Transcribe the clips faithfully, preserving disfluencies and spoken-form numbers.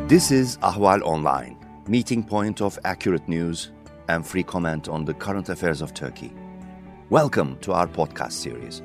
This is Ahval Online, meeting point of accurate news and free comment on the current affairs of Turkey. Welcome to our podcast series.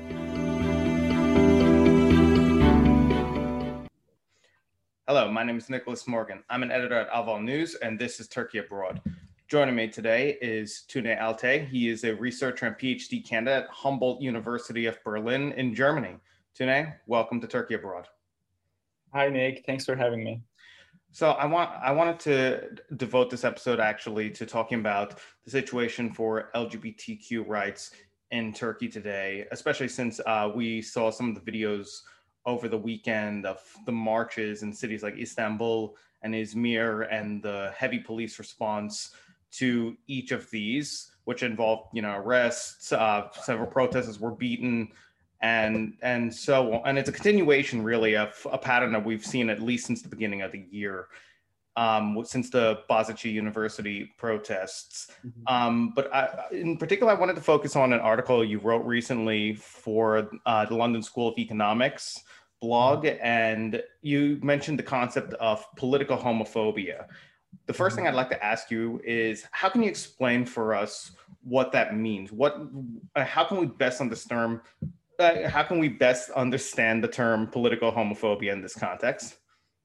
Hello, my name is Nicholas Morgan. I'm an editor at Ahval News, and this is Turkey Abroad. Joining me today is Tunay Altay. He is a researcher and PhD candidate at Humboldt University of Berlin in Germany. Tunay, welcome to Turkey Abroad. Hi, Nick. Thanks for having me. So I want I wanted to devote this episode actually to talking about the situation for L G B T Q rights in Turkey today, especially since uh, we saw some of the videos over the weekend of the marches in cities like Istanbul and Izmir and the heavy police response to each of these, which involved, you know, arrests, uh, several protesters were beaten, and and so on. And it's a continuation really of a pattern that we've seen at least since the beginning of the year, um, since the Boğaziçi University protests. Mm-hmm. Um, but I, in particular, I wanted to focus on an article you wrote recently for uh, the London School of Economics blog, and you mentioned the concept of political homophobia. The first thing I'd like to ask you is, how can you explain for us what that means? What, uh, how can we best understand, uh, how can we best understand the term political homophobia in this context?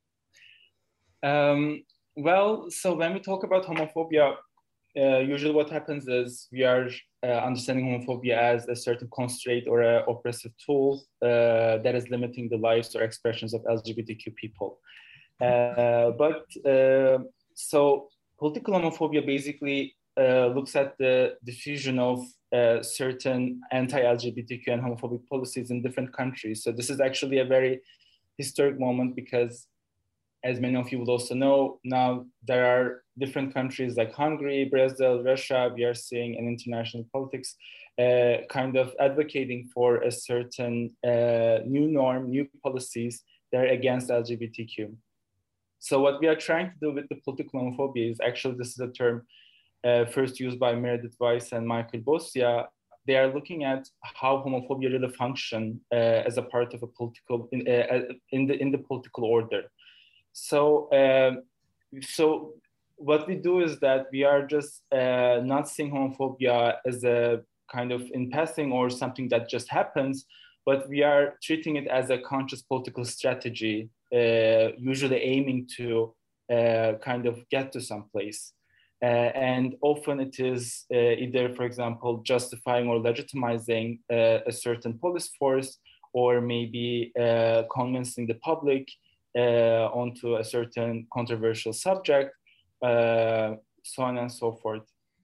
Um, well, so when we talk about homophobia, uh, usually what happens is we are uh, understanding homophobia as a certain constraint or an oppressive tool uh, that is limiting the lives or expressions of L G B T Q people. Uh, but uh, so political homophobia basically uh, looks at the diffusion of uh, certain anti-L G B T Q and homophobic policies in different countries. So this is actually a very historic moment because, as many of you will also know, now there are different countries like Hungary, Brazil, Russia. We are seeing in international politics uh, kind of advocating for a certain uh, new norm, new policies that are against L G B T Q. So what we are trying to do with the political homophobia is actually, this is a term uh, first used by Meredith Weiss and Michael Bossia. They are looking at how homophobia really function uh, as a part of a political, in, uh, in, the, in the political order. So, uh, so what we do is that we are just uh, not seeing homophobia as a kind of in passing or something that just happens, but we are treating it as a conscious political strategy, uh, usually aiming to uh, kind of get to some place. Uh, and often it is uh, either, for example, justifying or legitimizing uh, a certain police force, or maybe uh, convincing the public Uh, onto a certain controversial subject, uh, so on and so forth.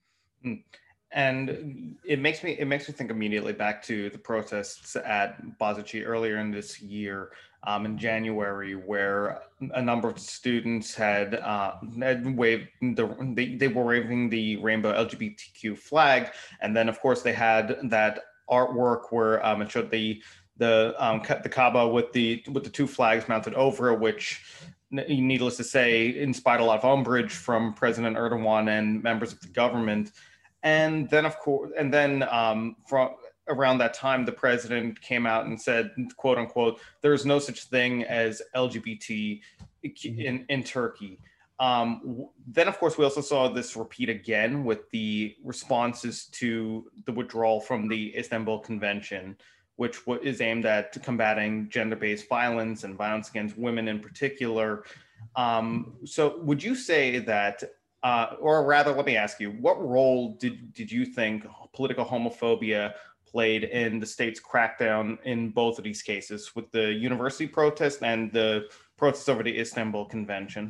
And it makes me it makes me think immediately back to the protests at Boğaziçi earlier in this year, um, in January, where a number of students had, uh, had waved the they, they were waving the rainbow L G B T Q flag, and then of course they had that artwork where um, it showed the the um, the Kaaba with the with the two flags mounted over it, which, needless to say, inspired a lot of umbrage from President Erdogan and members of the government. And then, of course, and then um, from around that time, the president came out and said, "quote unquote," there is no such thing as L G B T in in Turkey. Um, then, of course, we also saw this repeat again with the responses to the withdrawal from the Istanbul Convention, which is aimed at combating gender-based violence and violence against women in particular. Um, so would you say that, uh, or rather, let me ask you, what role did, did you think political homophobia played in the state's crackdown in both of these cases, with the university protest and the protests over the Istanbul Convention?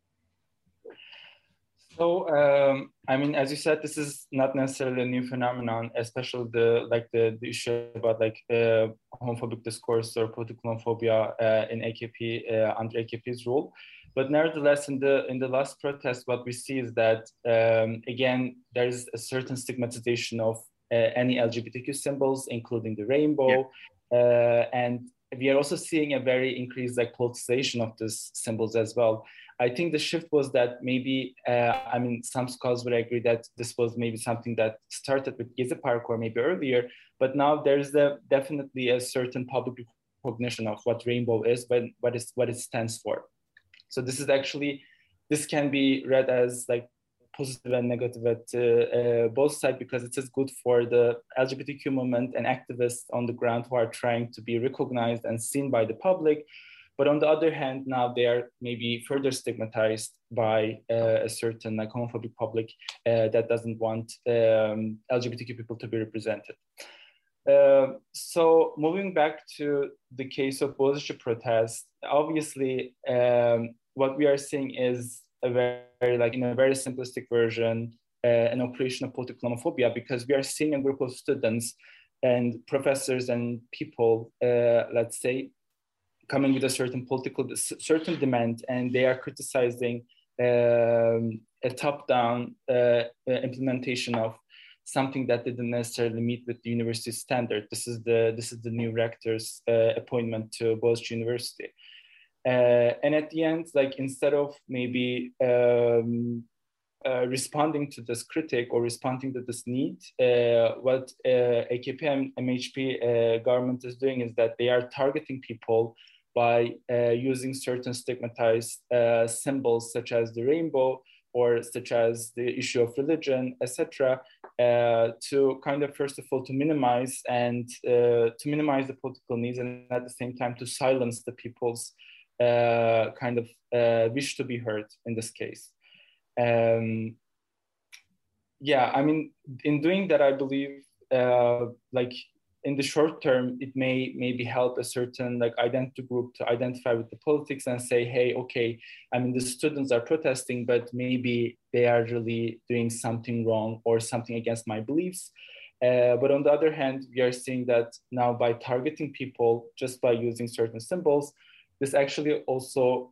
So, um, I mean, as you said, this is not necessarily a new phenomenon, especially the like the, the issue about like uh, homophobic discourse or political homophobia uh, in A K P uh, under A K P's rule. But nevertheless, in the in the last protest, what we see is that um, again there is a certain stigmatization of uh, any L G B T Q symbols, including the rainbow, yeah. uh, and we are also seeing a very increased like politicization of these symbols as well. I think the shift was that maybe, uh, I mean, some scholars would agree that this was maybe something that started with Gezi Park or maybe earlier, but now there's a, definitely a certain public recognition of what rainbow is, but what, is, what it stands for. So this is actually, this can be read as like positive and negative at uh, uh, both sides, because it is good for the L G B T Q movement and activists on the ground who are trying to be recognized and seen by the public. But on the other hand, now they are maybe further stigmatized by uh, a certain like homophobic public uh, that doesn't want um, L G B T Q people to be represented. Uh, so moving back to the case of Boğaziçi protest, obviously um, what we are seeing is a very, like in a very simplistic version, uh, an operation of political homophobia, because we are seeing a group of students and professors and people, uh, let's say, coming with a certain political, certain demand, and they are criticizing um, a top-down uh, implementation of something that didn't necessarily meet with the university standard. This is the this is the new rector's uh, appointment to Boğaziçi University. Uh, and at the end, like instead of maybe um, uh, responding to this critic or responding to this need, uh, what uh, A K P and M H P uh, government is doing is that they are targeting people by uh, using certain stigmatized uh, symbols such as the rainbow or such as the issue of religion, et cetera, uh, to kind of first of all to minimize and uh, to minimize the political needs, and at the same time to silence the people's uh, kind of uh, wish to be heard in this case. Um, yeah, I mean, in doing that, I believe uh, like in the short term, it may maybe help a certain like identity group to identify with the politics and say, hey, okay, I mean, the students are protesting, but maybe they are really doing something wrong or something against my beliefs. Uh, but on the other hand, we are seeing that now by targeting people just by using certain symbols, this actually also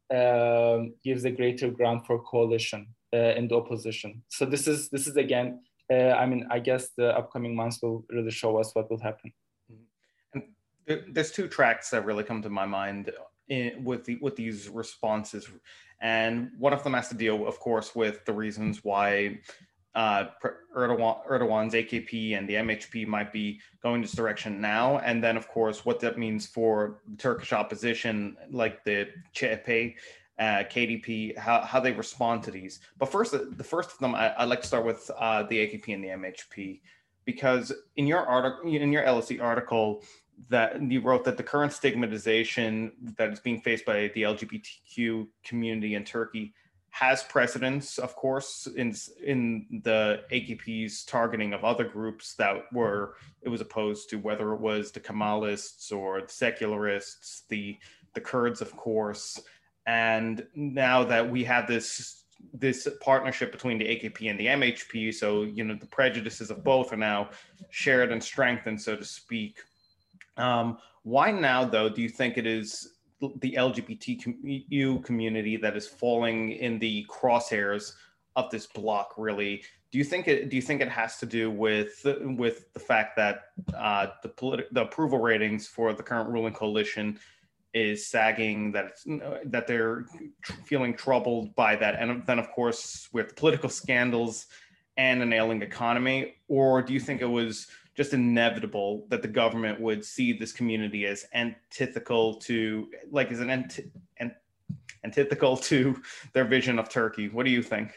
um, gives a greater ground for coalition uh, in the opposition. So this is this is again, uh, I mean, I guess the upcoming months will really show us what will happen. And there's two tracks that really come to my mind in, with the, with these responses, and one of them has to deal, of course, with the reasons why uh, Erdogan, Erdogan's A K P and the M H P might be going this direction now, and then, of course, what that means for Turkish opposition, like the C H P, uh, K D P, how, how they respond to these. But first, the first of them, I, I'd like to start with uh, the A K P and the M H P, because in your article, in your L S E article, that you wrote that the current stigmatization that is being faced by the L G B T Q community in Turkey has precedence, of course, in in the A K P's targeting of other groups that were it was opposed to, whether it was the Kemalists or the secularists, the the Kurds, of course. And now that we have this this partnership between the A K P and the M H P, so you know the prejudices of both are now shared and strengthened, so to speak. Um, why now, though, do you think it is the L G B T Q community that is falling in the crosshairs of this block? Really, do you think it? Do you think it has to do with with the fact that uh, the politi- the approval ratings for the current ruling coalition is sagging, that it's, that they're feeling troubled by that, and then of course with political scandals and an ailing economy? Or do you think it was just inevitable that the government would see this community as antithetical to, like, as an ant- ant- antithetical to their vision of Turkey? What do you think?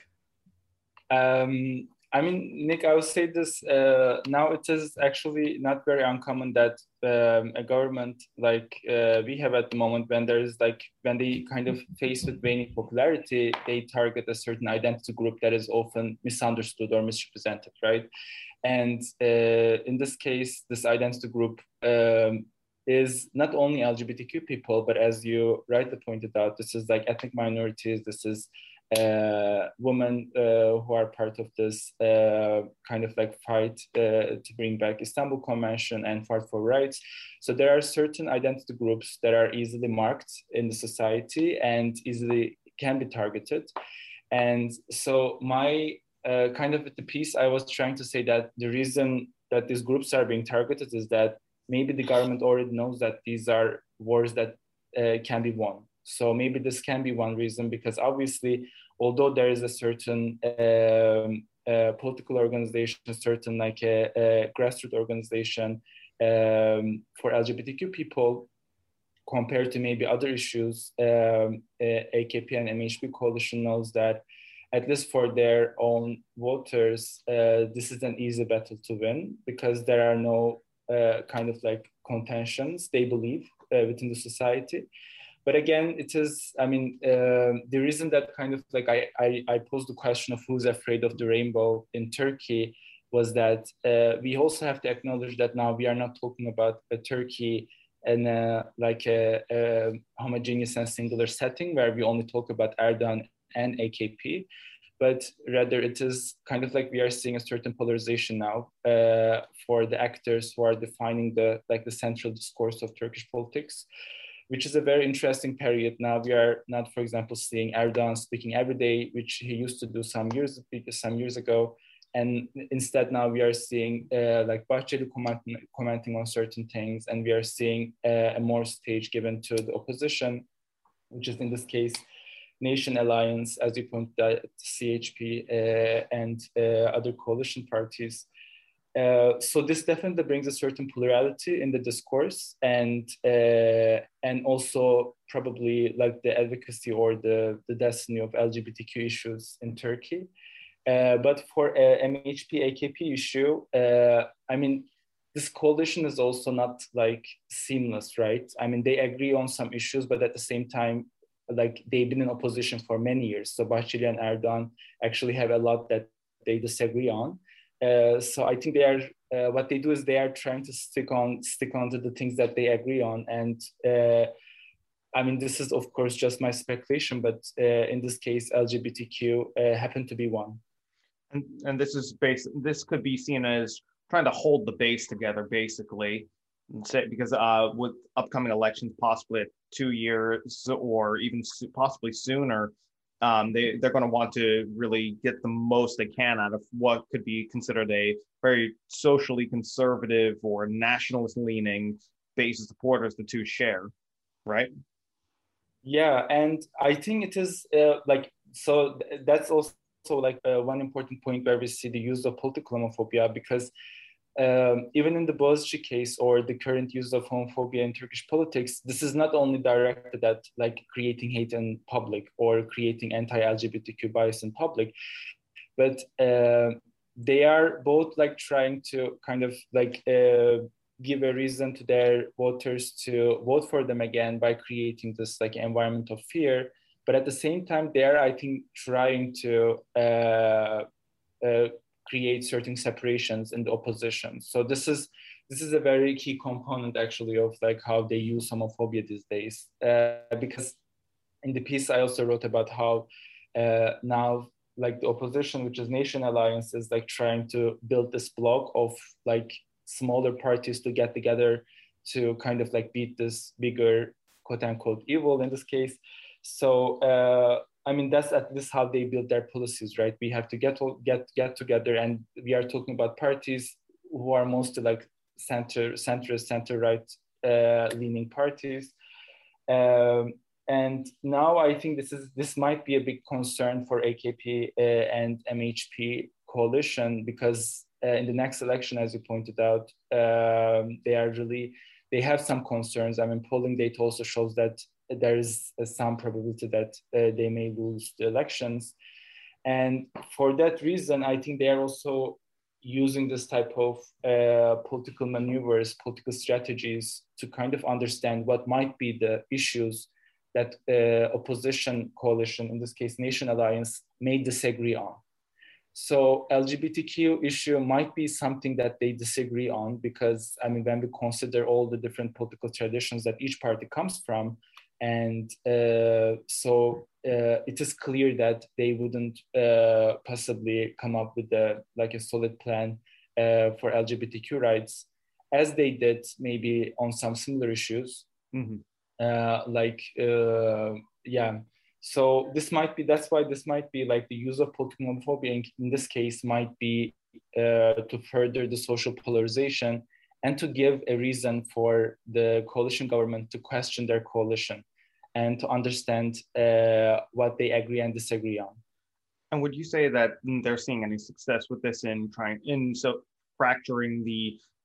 Um, I mean, Nick, I would say this, uh, now it is actually not very uncommon that um, a government like uh, we have at the moment, when there is like, when they kind of face with waning popularity, they target a certain identity group that is often misunderstood or misrepresented, right? And uh, in this case, this identity group um, is not only L G B T Q people, but as you rightly pointed out, this is like ethnic minorities, this is uh, women uh, who are part of this uh, kind of like fight uh, to bring back Istanbul Convention and fight for rights. So there are certain identity groups that are easily marked in the society and easily can be targeted. And so my Uh, kind of with the piece, I was trying to say that the reason that these groups are being targeted is that maybe the government already knows that these are wars that uh, can be won. So maybe this can be one reason, because obviously, although there is a certain um, uh, political organization, a certain like a, a grassroots organization um, for L G B T Q people, compared to maybe other issues, um, uh, A K P and M H P coalition knows that at least for their own voters, uh, this is an easy battle to win because there are no uh, kind of like contentions, they believe, uh, within the society. But again, it is, I mean, uh, the reason that kind of like I, I, I posed the question of who's afraid of the rainbow in Turkey was that uh, we also have to acknowledge that now we are not talking about a Turkey in a, like a, a homogeneous and singular setting where we only talk about Erdogan and A K P, but rather it is kind of like we are seeing a certain polarization now uh, for the actors who are defining the like the central discourse of Turkish politics, which is a very interesting period. Now we are not, for example, seeing Erdogan speaking every day, which he used to do some years some years ago. And instead now we are seeing uh, like Bahçeli commenting, commenting on certain things, and we are seeing uh, a more stage given to the opposition, which is in this case, Nation Alliance, as you pointed out, C H P uh, and uh, other coalition parties. Uh, so this definitely brings a certain plurality in the discourse, and uh, and also probably like the advocacy or the, the destiny of L G B T Q issues in Turkey. Uh, but for uh, M H P A K P issue, uh, I mean, this coalition is also not like seamless, right? I mean, they agree on some issues, but at the same time, like they've been in opposition for many years. So Bahçeli and Erdogan actually have a lot that they disagree on. Uh, so I think they are, uh, what they do is they are trying to stick on, stick on to the things that they agree on. And uh, I mean, this is of course just my speculation, but uh, in this case, L G B T Q uh, happened to be one. And, and this is base. This could be seen as trying to hold the base together, basically, say, because uh, with upcoming elections, possibly two years or even possibly sooner, um, they they're going to want to really get the most they can out of what could be considered a very socially conservative or nationalist-leaning base of supporters the two share, right? Yeah, and I think it is uh, like so. Th- that's also. So like uh, one important point where we see the use of political homophobia, because um, even in the Boğaziçi case or the current use of homophobia in Turkish politics, this is not only directed at like creating hate in public or creating anti-L G B T Q bias in public, but uh, they are both like trying to kind of like uh, give a reason to their voters to vote for them again by creating this like environment of fear. But at the same time, they're, I think, trying to uh, uh, create certain separations in the opposition. So this is this is a very key component, actually, of like how they use homophobia these days. Uh, because in the piece, I also wrote about how uh, now, like the opposition, which is Nation Alliance, is like trying to build this block of like smaller parties to get together to kind of like beat this bigger quote unquote evil in this case. So uh, I mean, that's at least how they build their policies, right? We have to get get get together, and we are talking about parties who are mostly like center, centrist, center right uh, leaning parties. Um, and now I think this is this might be a big concern for A K P uh, and M H P coalition, because uh, in the next election, as you pointed out, um, they are really they have some concerns. I mean, polling data also shows that there is some probability that uh, they may lose the elections. And for that reason, I think they are also using this type of uh, political maneuvers, political strategies to kind of understand what might be the issues that uh, opposition coalition, in this case, Nation Alliance, may disagree on. So L G B T Q issue might be something that they disagree on, because I mean, when we consider all the different political traditions that each party comes from, and uh, so uh, it is clear that they wouldn't uh, possibly come up with a, like a solid plan uh, for L G B T Q rights, as they did maybe on some similar issues. Mm-hmm. Uh, like, uh, yeah. So this might be, that's why this might be like the use of political homophobia in, in this case might be uh, to further the social polarization and to give a reason for the coalition government to question their coalition and to understand uh, what they agree and disagree on. And would you say that they're seeing any success with this in trying in so fracturing the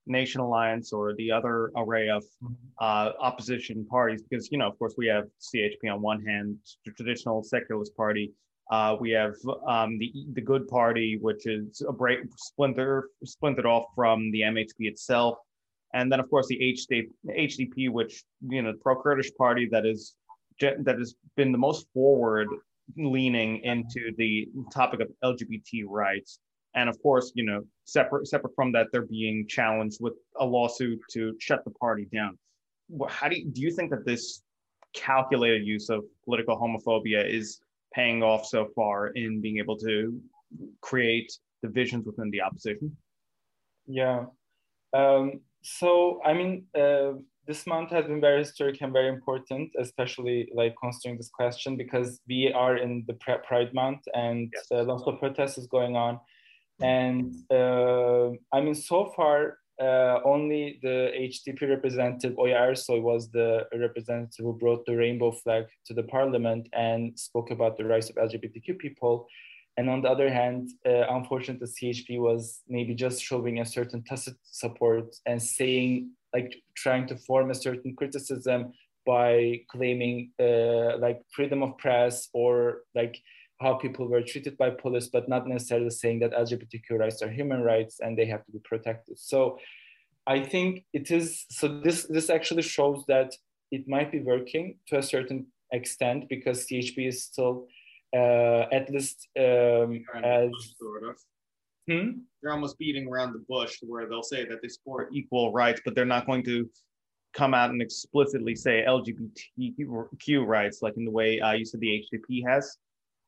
Nation Alliance or the other array of uh, opposition parties, because, you know, of course, we have C H P on one hand, the traditional secularist party. Uh, we have um, the the Good Party, which is a break splinter splintered off from the M H P itself, and then of course the H D P, which, you know, pro-Kurdish party that is that has been the most forward leaning into the topic of L G B T rights. And of course, you know, separate separate from that, they're being challenged with a lawsuit to shut the party down. How do you, do you think that this calculated use of political homophobia is paying off so far in being able to create divisions within the opposition? Yeah. Um, so, I mean, uh, this month has been very historic and very important, especially like considering this question, because we are in the Pride Month and yes. uh, lots of protests is going on. And uh, I mean, so far, uh, only the H D P representative, Oya Ersoy, was the representative who brought the rainbow flag to the parliament and spoke about the rights of L G B T Q people. And on the other hand, uh, unfortunately, C H P was maybe just showing a certain tacit support and saying, like, trying to form a certain criticism by claiming uh, like freedom of press or like how people were treated by police, but not necessarily saying that L G B T Q rights are human rights and they have to be protected. So I think it is, so this, this actually shows that it might be working to a certain extent, because C H P is still uh, at least um, as... Sort of. Hmm? They're almost beating around the bush where they'll say that they support equal rights, but they're not going to come out and explicitly say L G B T Q rights, like in the way uh, you said the H D P has.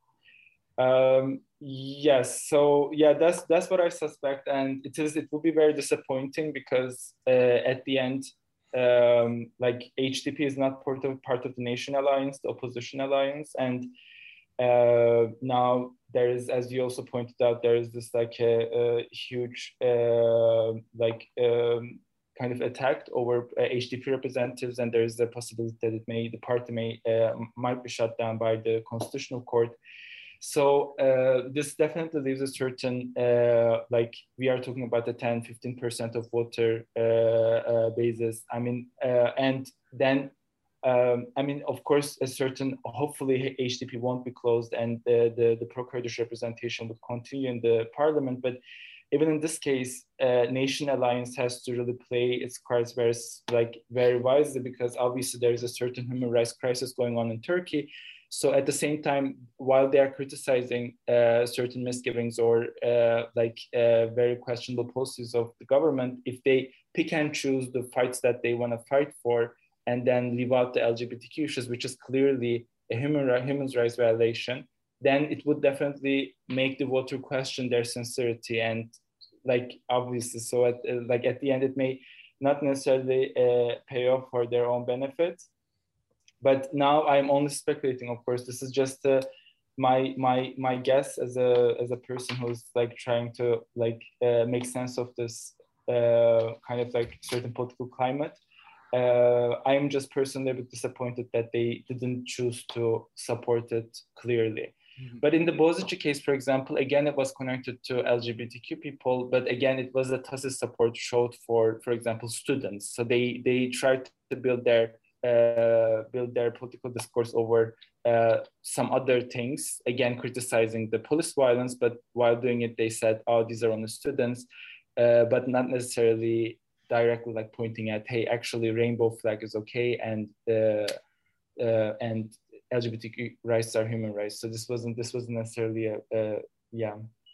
Um, yes, so yeah, that's that's what I suspect, and it is it will be very disappointing because uh, at the end, um, like H D P is not part of part of the Nation Alliance, the opposition alliance, and uh, now there is, as you also pointed out, there is this like a, a huge uh, like um, kind of attack over uh, H D P representatives, and there is the possibility that it may the party may uh, might be shut down by the Constitutional Court. So uh, this definitely leaves a certain, uh, like we are talking about the ten, fifteen percent of voter uh, uh, basis. I mean, uh, and then, um, I mean, of course, a certain, hopefully H D P won't be closed and the, the, the pro-Kurdish representation would continue in the parliament. But even in this case, uh, Nation Alliance has to really play its cards very, like, very wisely, because obviously there is a certain human rights crisis going on in Turkey. So at the same time, while they are criticizing uh, certain misgivings or uh, like uh, very questionable policies of the government, if they pick and choose the fights that they want to fight for and then leave out the L G B T Q issues, which is clearly a human, human rights violation, then it would definitely make the voter question their sincerity. And like, obviously, so at, like at the end, it may not necessarily uh, pay off for their own benefit. But now I'm only speculating. Of course, this is just uh, my my my guess as a as a person who's like trying to like uh, make sense of this uh, kind of like certain political climate. Uh, I'm just personally a bit disappointed that they didn't choose to support it clearly. Mm-hmm. But in the Bozici case, for example, again, it was connected to L G B T Q people, but again, it was a tacit support showed for, for example, students. So they they tried to build their Uh, build their political discourse over uh, some other things, again criticizing the police violence, but while doing it they said, oh, these are only students, uh, but not necessarily directly like pointing at, hey, actually rainbow flag is okay, and uh, uh, and L G B T Q rights are human rights. So this wasn't this wasn't necessarily a, a yeah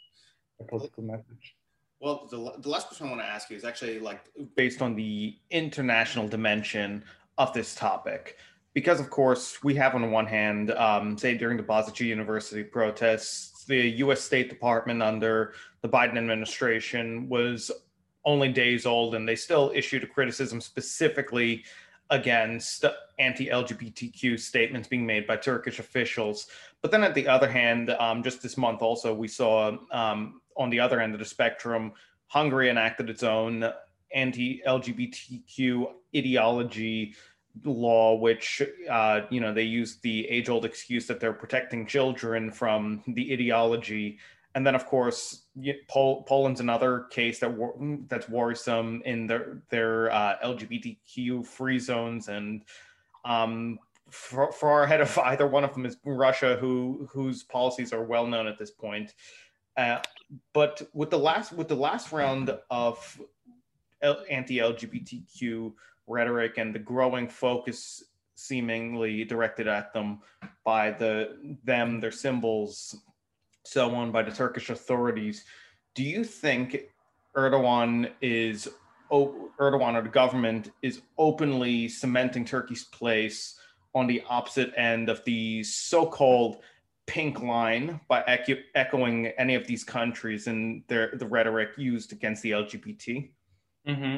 a political message. Well, the, the last question I want to ask you is actually like based on the international dimension of this topic, because of course we have on the one hand, um, say during the Bozici University protests, the U S State Department under the Biden administration was only days old, and they still issued a criticism specifically against anti-L G B T Q statements being made by Turkish officials. But then at the other hand, um, just this month also, we saw um, on the other end of the spectrum, Hungary enacted its own anti-L G B T Q ideology law, which, uh, you know, they use the age-old excuse that they're protecting children from the ideology. and then of course Pol- Poland's another case that wor- that's worrisome in their their uh, L G B T Q free zones, and um, far, far ahead of either one of them is Russia, who whose policies are well known at this point. Uh, but with the last with the last round of anti-L G B T Q rhetoric and the growing focus seemingly directed at them by the them, their symbols, so on, by the Turkish authorities, do you think Erdogan is Erdogan or the government is openly cementing Turkey's place on the opposite end of the so-called pink line by echo- echoing any of these countries and their the rhetoric used against the L G B T? Mm-hmm.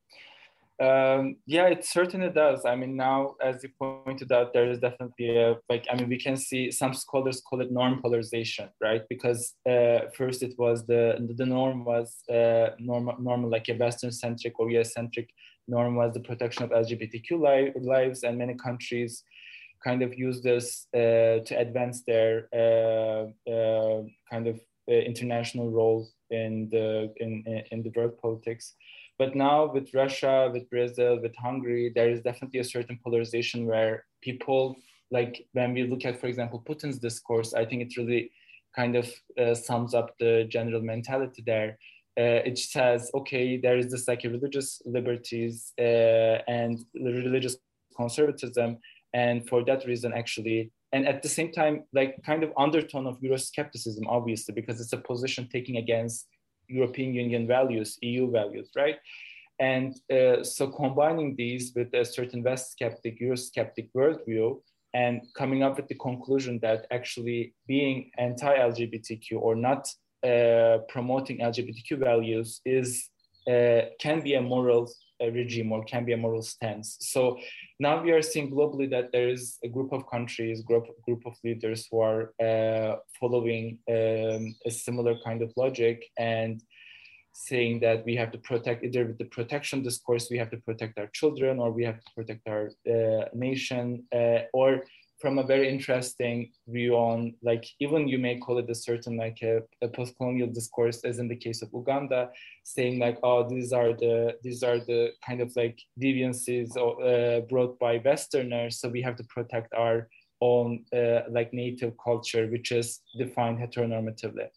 Um, yeah, it certainly does. I mean, now, as you pointed out, there is definitely a, like, I mean, we can see some scholars call it norm polarization, right? Because uh, first it was the, the norm was uh, normal, normal, like a Western-centric or U S-centric norm was the protection of L G B T Q li- lives, and many countries kind of use this uh, to advance their uh, uh, kind of uh, international role in the, in, in the world politics. But now with Russia, with Brazil, with Hungary, there is definitely a certain polarization where people, like when we look at, for example, Putin's discourse, I think it really kind of uh, sums up the general mentality there. Uh, it says, okay, there is this like a religious liberties uh, and religious conservatism. And for that reason, actually, and at the same time, like kind of undertone of Euroscepticism, obviously, because it's a position taking against European Union values, E U values, right? And uh, so combining these with a certain West skeptic, Eurosceptic worldview, and coming up with the conclusion that actually being anti-L G B T Q or not uh, promoting L G B T Q values is uh, can be a moral uh, regime or can be a moral stance. So now we are seeing globally that there is a group of countries, group group of leaders who are uh, following um, a similar kind of logic and saying that we have to protect, either with the protection discourse, we have to protect our children, or we have to protect our uh, nation, uh, or from a very interesting view on, like, even you may call it a certain like a, a post-colonial discourse, as in the case of Uganda, saying like, oh, these are the these are the kind of like deviances uh, brought by Westerners, so we have to protect our own uh, like native culture, which is defined heteronormatively.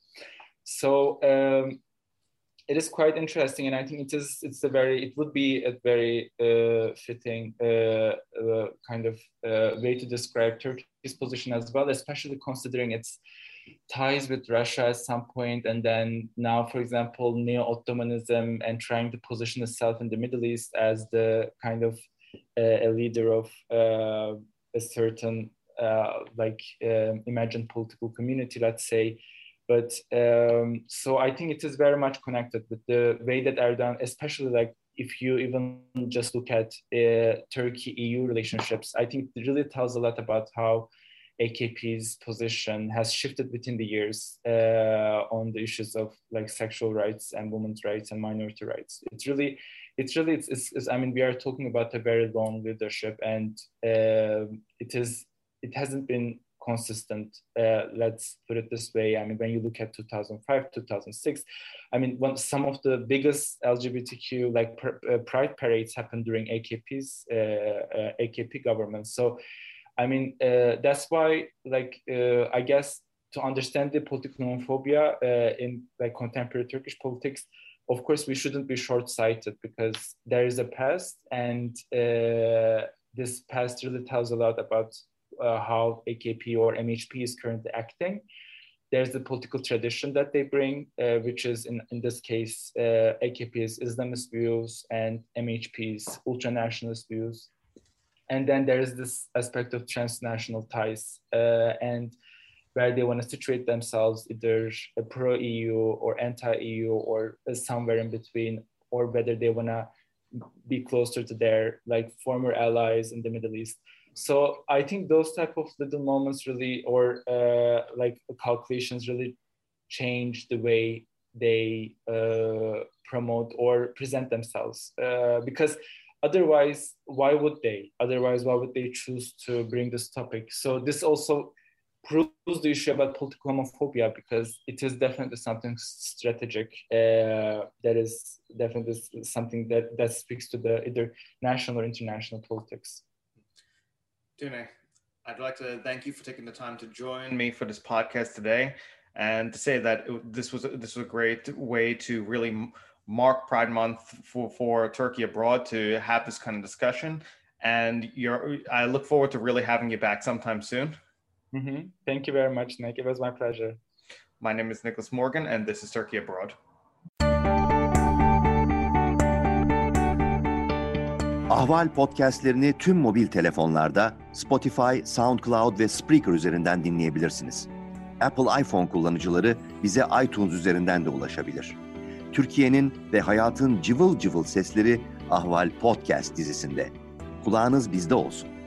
So um, it is quite interesting, and I think it is. It's a very. It would be a very uh, fitting uh, uh, kind of uh, way to describe Turkey's position as well, especially considering its ties with Russia at some point, and then now, for example, neo-Ottomanism and trying to position itself in the Middle East as the kind of uh, a leader of uh, a certain uh, like uh, imagined political community, let's say. But um, so I think it is very much connected with the way that Erdogan, especially like if you even just look at uh, Turkey-E U relationships, I think it really tells a lot about how A K P's position has shifted within the years uh, on the issues of like sexual rights and women's rights and minority rights. It's really, it's really, it's, it's, it's I mean, we are talking about a very long leadership, and uh, it is, it hasn't been consistent, uh, let's put it this way. I mean, when you look at two thousand five, two thousand six, I mean, when some of the biggest L G B T Q like pr- uh, pride parades happened during A K P's uh, uh, A K P government. So, I mean, uh, that's why, like, uh, I guess to understand the political homophobia uh, in like contemporary Turkish politics, of course, we shouldn't be short-sighted, because there is a past, and uh, this past really tells a lot about Uh, how A K P or M H P is currently acting. There's the political tradition that they bring, uh, which is in, in this case, uh, A K P's Islamist views and M H P's ultra-nationalist views. And then there is this aspect of transnational ties uh, and where they want to situate themselves either pro-E U or anti-E U or somewhere in between, or whether they want to be closer to their like former allies in the Middle East. So I think those type of little moments really, or uh, like calculations really change the way they uh, promote or present themselves. Uh, because otherwise, why would they? Otherwise, why would they choose to bring this topic? So this also proves the issue about political homophobia, because it is definitely something strategic. Uh, that is definitely something that, that speaks to the either national or international politics. Dune, I'd like to thank you for taking the time to join me for this podcast today, and to say that it, this was this was a great way to really mark Pride Month for, for Turkey abroad, to have this kind of discussion. And you're, I look forward to really having you back sometime soon. Mm-hmm. Thank you very much, Nick. It was my pleasure. My name is Nicholas Morgan, and this is Turkey Abroad. Ahval podcastlerini tüm mobil telefonlarda Spotify, SoundCloud ve Spreaker üzerinden dinleyebilirsiniz. Apple iPhone kullanıcıları bize iTunes üzerinden de ulaşabilir. Türkiye'nin ve hayatın cıvıl cıvıl sesleri Ahval Podcast dizisinde. Kulağınız bizde olsun.